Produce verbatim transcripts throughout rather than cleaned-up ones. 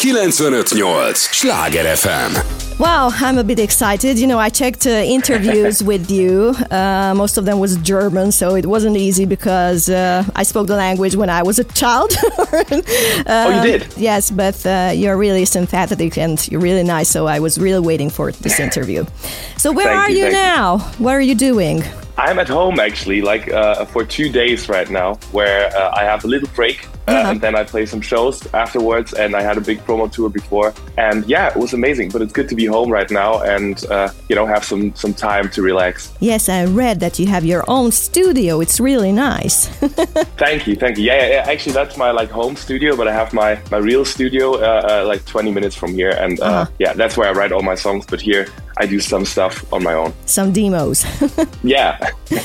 kilencvenöt nyolc Sláger ef em. Wow, I'm a bit excited. You know, I checked uh, interviews with you. Uh, most of them was German, so it wasn't easy because uh, I spoke the language when I was a child. uh, oh, you did? Yes, but uh, you're really sympathetic and you're really nice, so I was really waiting for this interview. So where Thank are you, you now? You. What are you doing? I'm at home, actually, like uh, for two days right now, where uh, I have a little break. Uh, uh-huh. And then I play some shows afterwards, and I had a big promo tour before. And yeah, it was amazing, but it's good to be home right now and, uh, you know, have some, some time to relax. Yes, I read that you have your own studio. It's really nice. Thank you, thank you. Yeah, yeah, actually, that's my like home studio, but I have my, my real studio uh, uh, like twenty minutes from here. And uh, uh-huh. yeah, that's where I write all my songs. But here I do some stuff on my own. Some demos. Yeah.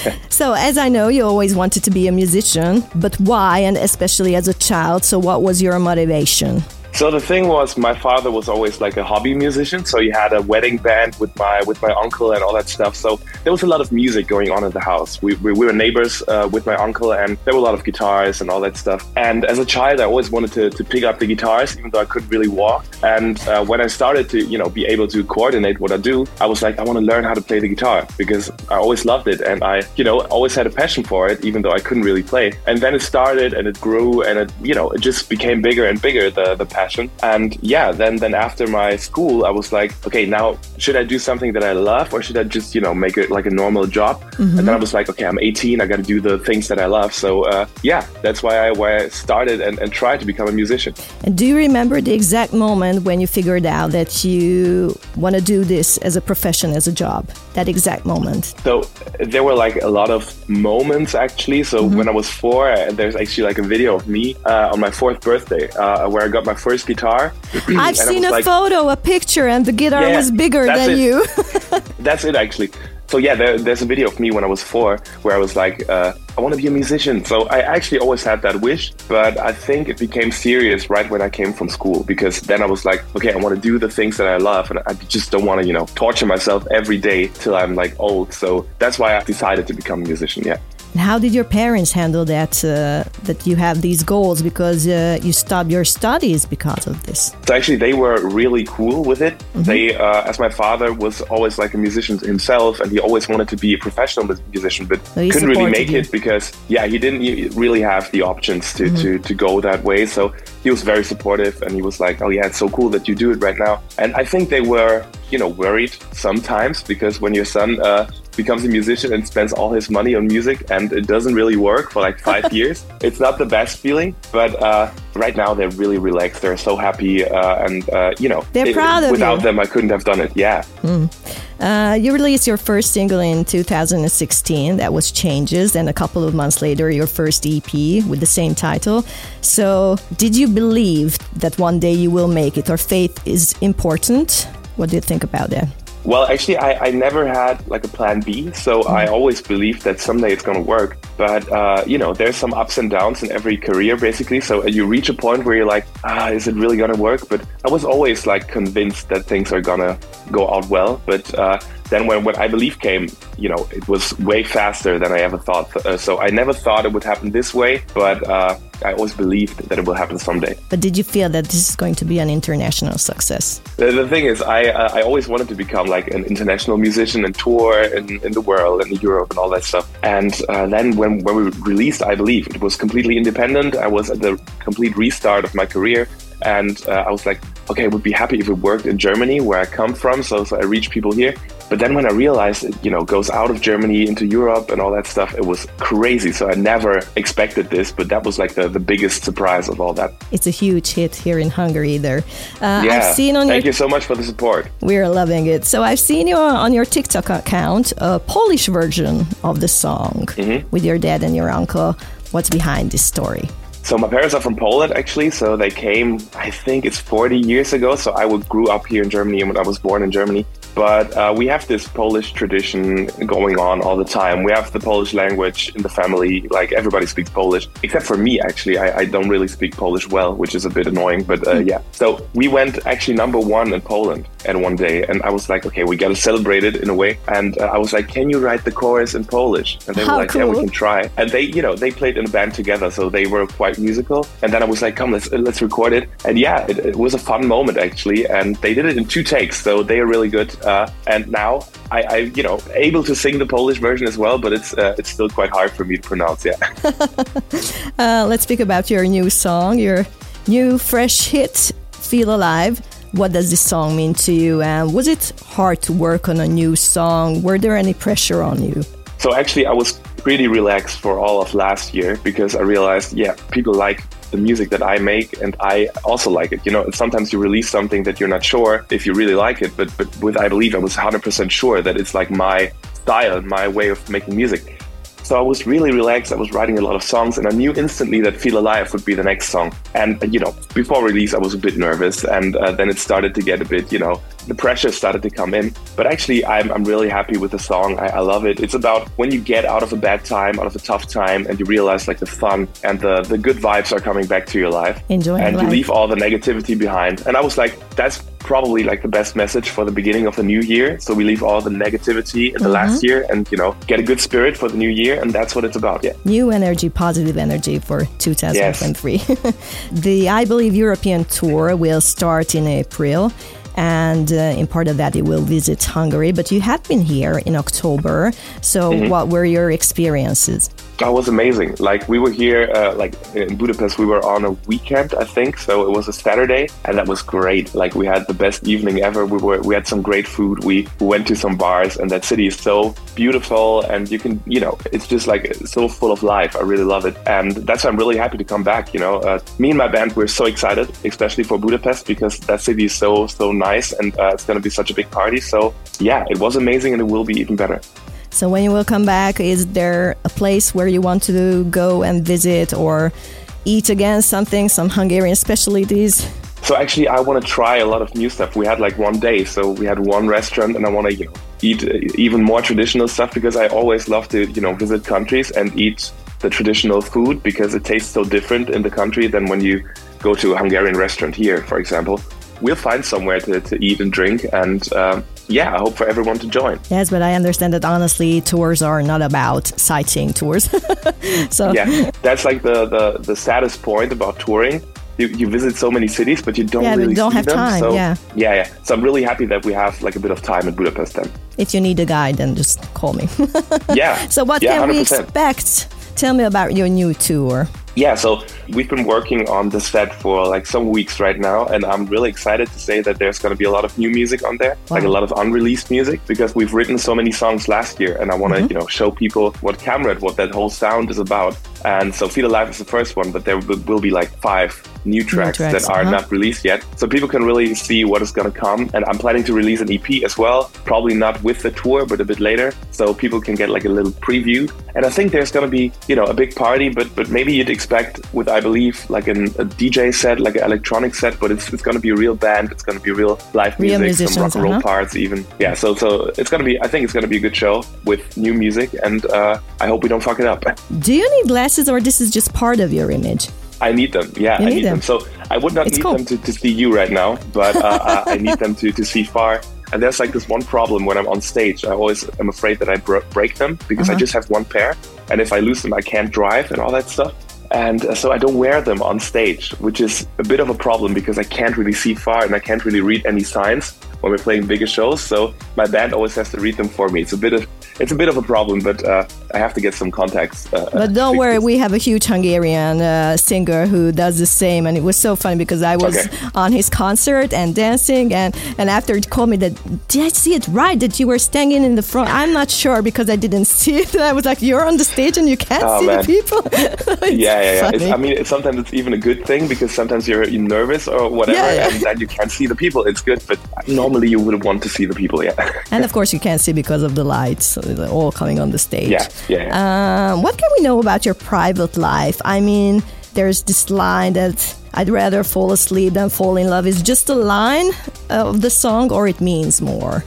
So as I know, you always wanted to be a musician, but why? And especially as a child. So what was your motivation? So the thing was, my father was always like a hobby musician. So he had a wedding band with my with my uncle and all that stuff. So there was a lot of music going on in the house. We, we, we were neighbors uh, with my uncle, and there were a lot of guitars and all that stuff. And as a child, I always wanted to, to pick up the guitars, even though I couldn't really walk. And uh, when I started to, you know, be able to coordinate what I do, I was like, I want to learn how to play the guitar because I always loved it. And I, you know, always had a passion for it, even though I couldn't really play. And then it started and it grew and it, you know, it just became bigger and bigger, the, the passion. And yeah, then then after my school, I was like, okay, now should I do something that I love or should I just, you know, make it like a normal job? Mm-hmm. And then I was like, okay, I'm eighteen, I got to do the things that I love. So uh, yeah, that's why I, why I started and, and tried to become a musician. And do you remember the exact moment when you figured out that you want to do this as a profession, as a job? That exact moment? So there were like a lot of moments actually. So mm-hmm. when I was four, there's actually like a video of me uh, on my fourth birthday uh, where I got my first guitar. I've seen a like, photo, a picture, and the guitar yeah, was bigger than it. you. That's it actually. So yeah, there, there's a video of me when I was four where I was like, uh, I want to be a musician. So I actually always had that wish, but I think it became serious right when I came from school, because then I was like, okay, I want to do the things that I love, and I just don't want to, you know, torture myself every day till I'm like old. So that's why I decided to become a musician, yeah. And how did your parents handle that, uh, that you have these goals because uh, you stopped your studies because of this? So actually, they were really cool with it. Mm-hmm. They, uh, as my father was always like a musician himself, and he always wanted to be a professional musician, but so couldn't really make you. it because, yeah, he didn't really have the options to, mm-hmm. to, to go that way. So he was very supportive, and he was like, oh yeah, it's so cool that you do it right now. And I think they were, you know, worried sometimes because when your son uh, becomes a musician and spends all his money on music and it doesn't really work for like five years, it's not the best feeling. But uh, right now they're really relaxed. They're so happy, uh, and uh, you know, they're it, proud of without you. them I couldn't have done it. Yeah. Mm. Uh, you released your first single in two thousand sixteen. That was Changes, and a couple of months later, your first E P with the same title. So, did you believe that one day you will make it, or faith is important? What do you think about that? Well, actually, I, I never had like a plan B, so mm-hmm. I always believed that someday it's going to work. But, uh, you know, there's some ups and downs in every career, basically. So you reach a point where you're like, ah, is it really going to work? But I was always like convinced that things are going to go out well. But uh, then when, when I Believe came, you know, it was way faster than I ever thought. Uh, so I never thought it would happen this way, but uh, I always believed that it will happen someday. But did you feel that this is going to be an international success? The, the thing is, I uh, I always wanted to become like an international musician and tour in, in the world and in Europe and all that stuff. And uh, then when, when we released I Believe, it was completely independent. I was at the complete restart of my career. And uh, I was like, okay, I would be happy if it worked in Germany, where I come from. So, so I reach people here. But then when I realized it, you know, goes out of Germany into Europe and all that stuff, it was crazy. So I never expected this, but that was like the, the biggest surprise of all that. It's a huge hit here in Hungary there. Uh, yeah, I've seen on thank your... you so much for the support. We're loving it. So I've seen you on your TikTok account, a Polish version of the song mm-hmm. with your dad and your uncle. What's behind this story? So my parents are from Poland, actually. So they came, I think it's forty years ago. So I grew up here in Germany and I was born in Germany. but uh, we have this Polish tradition going on all the time. We have the Polish language in the family. Like, everybody speaks Polish, except for me, actually. I, I don't really speak Polish well, which is a bit annoying, but uh, yeah. So we went actually number one in Poland at one day, and I was like, okay, we got to celebrate it in a way. And uh, I was like, can you write the chorus in Polish? And they How were like, cool. yeah, we can try. And they, you know, they played in a band together, so they were quite musical. And then I was like, come, let's let's record it. And yeah, it, it was a fun moment, actually. And they did it in two takes, so they are really good. Uh, and now I, I, you know, able to sing the Polish version as well, but it's uh, it's still quite hard for me to pronounce. Yeah. uh, let's speak about your new song, your new fresh hit, "Feel Alive." What does this song mean to you? And was it hard to work on a new song? Were there any pressure on you? So actually, I was pretty relaxed for all of last year because I realized, yeah, people like the music that I make, and I also like it. You know, sometimes you release something that you're not sure if you really like it, but but with I Believe, I was one hundred percent sure that it's like my style, my way of making music. So I was really relaxed. I was writing a lot of songs, and I knew instantly that Feel Alive would be the next song. And, you know, before release, I was a bit nervous, and uh, then it started to get a bit, you know, the pressure started to come in. But actually, I'm, I'm really happy with the song. I, I love it. It's about when you get out of a bad time, out of a tough time, and you realize like the fun and the, the good vibes are coming back to your life. Enjoying And life. you leave all the negativity behind. And I was like, that's probably like the best message for the beginning of the new year. So we leave all the negativity in the Mm-hmm. last year and, you know, get a good spirit for the new year. And that's what it's about. Yeah. New energy, positive energy for two thousand twenty-three. Yes. The I Believe European tour will start in April. And uh, in part of that, you will visit Hungary. But you had been here in October. So mm-hmm. what were your experiences? That was amazing. Like, we were here, uh, like in Budapest, we were on a weekend, I think. So it was a Saturday, and that was great. Like, we had the best evening ever. We were, we had some great food. We went to some bars, and that city is so beautiful. And you can, you know, it's just like so full of life. I really love it. And that's why I'm really happy to come back. You know, uh, me and my band, we're so excited, especially for Budapest, because that city is so, so nice. And uh, it's going to be such a big party. So yeah, it was amazing, and it will be even better. So when you will come back, is there a place where you want to go and visit or eat again something, some Hungarian specialties? So actually, I want to try a lot of new stuff. We had like one day, so we had one restaurant, and I want to, you know, eat even more traditional stuff because I always love to, you know, visit countries and eat the traditional food because it tastes so different in the country than when you go to a Hungarian restaurant here, for example. We'll find somewhere to, to eat and drink, and um, yeah, I hope for everyone to join. Yes, but I understand that honestly, tours are not about sightseeing tours. So yeah, that's like the, the, the saddest point about touring. You, you visit so many cities, but you don't yeah, really don't see have them. time. So, yeah, yeah, yeah. So I'm really happy that we have like a bit of time in Budapest then. If you need a guide, then just call me. Yeah. So what yeah, can one hundred percent. we expect? Tell me about your new tour. Yeah, so we've been working on the set for like some weeks right now, and I'm really excited to say that there's going to be a lot of new music on there, wow. like a lot of unreleased music, because we've written so many songs last year, and I want to, mm-hmm. you know, show people what Kamrat, what that whole sound is about. And so Feel Alive is the first one, but there will be like five new tracks, new tracks that are uh-huh. not released yet. So people can really see what is going to come. And I'm planning to release an E P as well, probably not with the tour, but a bit later. So people can get like a little preview. And I think there's going to be, you know, a big party, but but maybe you'd expect with, I believe, like an, a D J set, like an electronic set, but it's it's going to be a real band. It's going to be real live real music, some rock and roll uh-huh. parts even. Yeah, so so it's going to be, I think it's going to be a good show with new music, and uh, I hope we don't fuck it up. Do you need glasses, or this is just part of your image? I need them. Yeah, you I need, need them. them. So I would not it's need cool. them to, to see you right now, but uh, I need them to, to see far. And there's like this one problem when I'm on stage. I always am afraid that I br- break them because uh-huh. I just have one pair. And if I lose them, I can't drive and all that stuff. And uh, so I don't wear them on stage, which is a bit of a problem because I can't really see far and I can't really read any signs when we're playing bigger shows. So my band always has to read them for me. It's a bit of it's a bit of a problem, but uh, I have to get some contacts. Uh, but don't worry, we have a huge Hungarian uh, singer who does the same, and it was so funny because I was okay. on his concert and dancing, and, and after he called me that, did I see it right, that you were standing in the front? I'm not sure because I didn't see it. And I was like, you're on the stage and you can't oh, see man. the people? yeah, yeah, yeah. It's, I mean, it's, sometimes it's even a good thing because sometimes you're, you're nervous or whatever, yeah, yeah. and then you can't see the people. It's good, but normally you would want to see the people, yeah. And of course you can't see because of the lights all coming on the stage. Yeah, yeah. yeah. Um, what can we know about your private life? I mean, there's this line that I'd rather fall asleep than fall in love. Is just a line of the song, or it means more?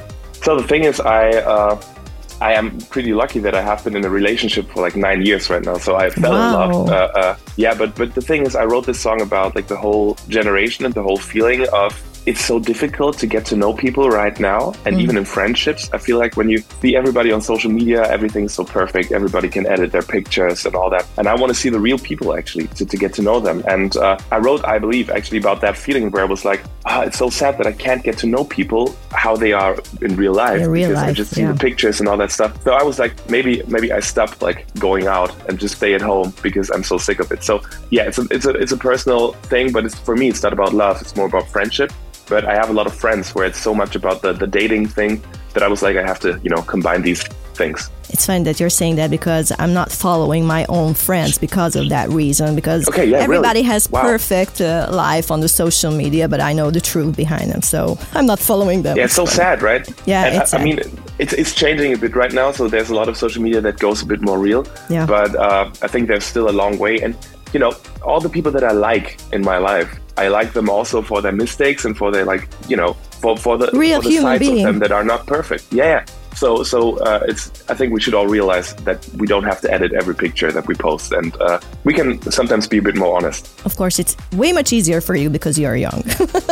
So the thing is, I uh, I am pretty lucky that I have been in a relationship for like nine years right now. So I fell wow. in love. Uh, uh, yeah, but but the thing is, I wrote this song about like the whole generation and the whole feeling of it's so difficult to get to know people right now. And mm. even in friendships, I feel like when you see everybody on social media, everything's so perfect. Everybody can edit their pictures and all that. And I want to see the real people actually to, to get to know them. And uh, I wrote, I believe, actually about that feeling where I was like, ah, it's so sad that I can't get to know people how they are in real life. In real because life, I just see yeah. the pictures and all that stuff. So I was like, maybe maybe I stop like going out and just stay at home because I'm so sick of it. So yeah, it's a, it's a, it's a personal thing, but it's, for me, it's not about love. It's more about friendship. But I have a lot of friends where it's so much about the, the dating thing that I was like, I have to, you know, combine these things. It's funny that you're saying that because I'm not following my own friends because of that reason. Because okay, yeah, everybody really? has wow. perfect uh, life on the social media, but I know the truth behind them. So I'm not following them. Yeah, it's so sad, right? Yeah, and it's I, sad. I mean, it's it's changing a bit right now. So there's a lot of social media that goes a bit more real. Yeah. But uh, I think there's still a long way. And, you know, all the people that I like in my life, I like them also for their mistakes and for their, like, you know, for, for the, real for the human sides being. of them that are not perfect. Yeah, yeah. So, so uh, it's. I think we should all realize that we don't have to edit every picture that we post, and uh, we can sometimes be a bit more honest. Of course, it's way much easier for you because you're young.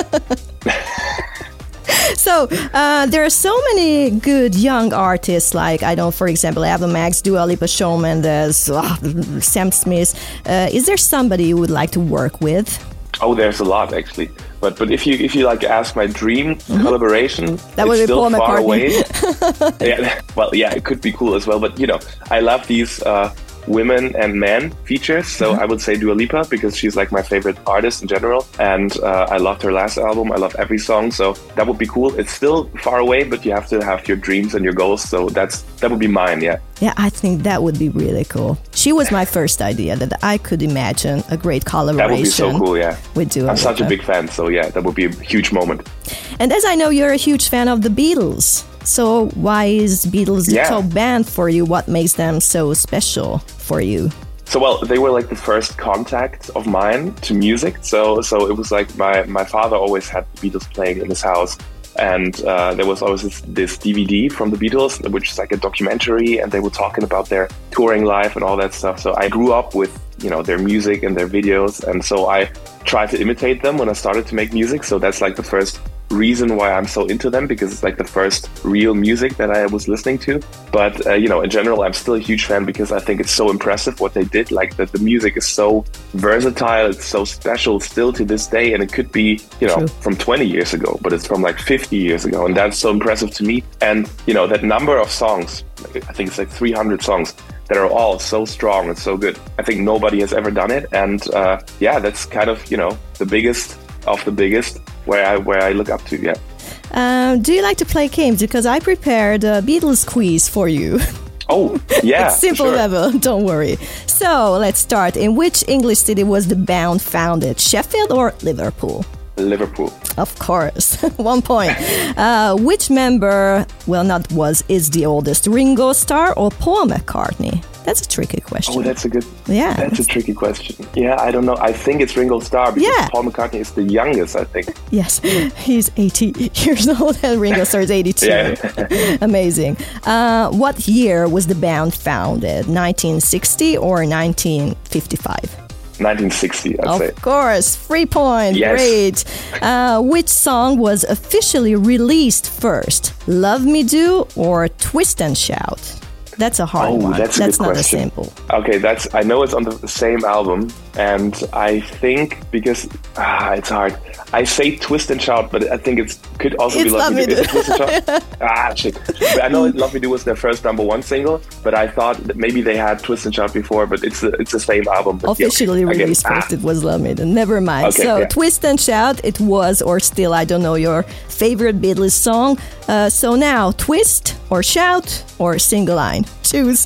So uh, there are so many good young artists, like, I know, for example, Ava Max, Dua Lipa, Shawn Mendes, uh, Sam Smith. Uh, is there somebody you would like to work with? Oh, there's a lot actually. But but if you if you like ask my dream mm-hmm. collaboration, that would it's be still Paul far McCartney. away. yeah, well, yeah, it could be cool as well. But you know, I love these uh, women and men features. So mm-hmm. I would say Dua Lipa because she's like my favorite artist in general, and uh, I loved her last album. I love every song, so that would be cool. It's still far away, but you have to have your dreams and your goals. So that's that would be mine. Yeah. Yeah, I think that would be really cool. She was my first idea that I could imagine a great collaboration. That would be so cool, yeah. With Dua Lipa. I'm such a big fan, so yeah, that would be a huge moment. And as I know, you're a huge fan of the Beatles. So why is Beatles the yeah. top band for you? What makes them so special for you? So, well, they were like the first contact of mine to music. So, so it was like my, my father always had the Beatles playing in his house. And uh, there was always this, this D V D from the Beatles, which is like a documentary, and they were talking about their touring life and all that stuff. So I grew up with, you know, their music and their videos. And so I tried to imitate them when I started to make music. So that's like the first reason why I'm so into them, because it's like the first real music that I was listening to. But, uh, you know, in general, I'm still a huge fan because I think it's so impressive what they did. Like that the music is so versatile. It's so special still to this day. And it could be, you know, True. from twenty years ago, but it's from like fifty years ago. And that's so impressive to me. And, you know, that number of songs, I think it's like three hundred songs that are all so strong and so good. I think nobody has ever done it. And uh, yeah, that's kind of, you know, the biggest of the biggest where I where I look up to, yeah. Um, do you like to play games? Because I prepared a Beatles quiz for you. Oh, yeah. It's simple sure. level, don't worry. So let's start. In which English city was the band founded? Sheffield or Liverpool? Liverpool. Of course. One point. Uh, which member, well, not was, is the oldest? Ringo Starr or Paul McCartney? That's a tricky question. Oh, that's a good. Yeah, that's a tricky question. Yeah, I don't know. I think it's Ringo Starr because yeah. Paul McCartney is the youngest, I think. Yes, he's eighty years old and Ringo Starr is eighty-two. Yeah. Amazing. Uh, what year was the band founded? nineteen sixty or nineteen fifty-five? nineteen sixty, I'd of say. Of course, free point. Yes. Great. Uh, which song was officially released first? Love Me Do or Twist and Shout? That's a hard oh, one. That's, a that's good not question. a simple. Okay, that's. I know it's on the same album, and I think because ah, it's hard. I say Twist and Shout, but I think it could also it's be Love Me Do. Do. Is it Twist and Shout? ah, shit. But I know Love Me Do was their first number one single, but I thought that maybe they had Twist and Shout before, but it's the, it's the same album. But Officially yeah, released again, first, ah. it was Love Me Do. Never mind. Okay, so yeah. Twist and Shout, it was, or still, I don't know, your favorite Beatles song. Uh, so now, Twist or Shout or Single Line? Choose.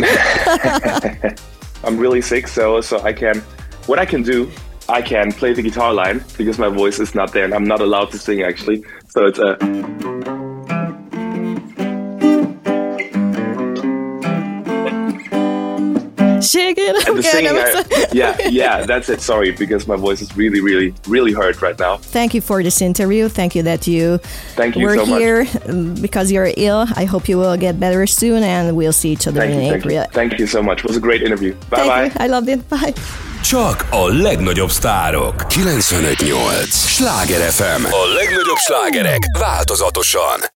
I'm really sick, so so I can. What I can do, I can play the guitar line because my voice is not there and I'm not allowed to sing actually. So it's a. Shaking. And the Okay, singing, that was- I, yeah, yeah, that's it. Sorry, because my voice is really, really, really hurt right now. Thank you for this interview. Thank you that you Thank you were so much. here um, because you're ill. I hope you will get better soon, and we'll see each other Thank in you, thank April. you. Thank you so much. It was a great interview. Bye Thank bye. you. I love it. Bye. Csak a legnagyobb sztárok. kilencvenöt nyolc Sláger ef em. A legnagyobb slágerek változatosan.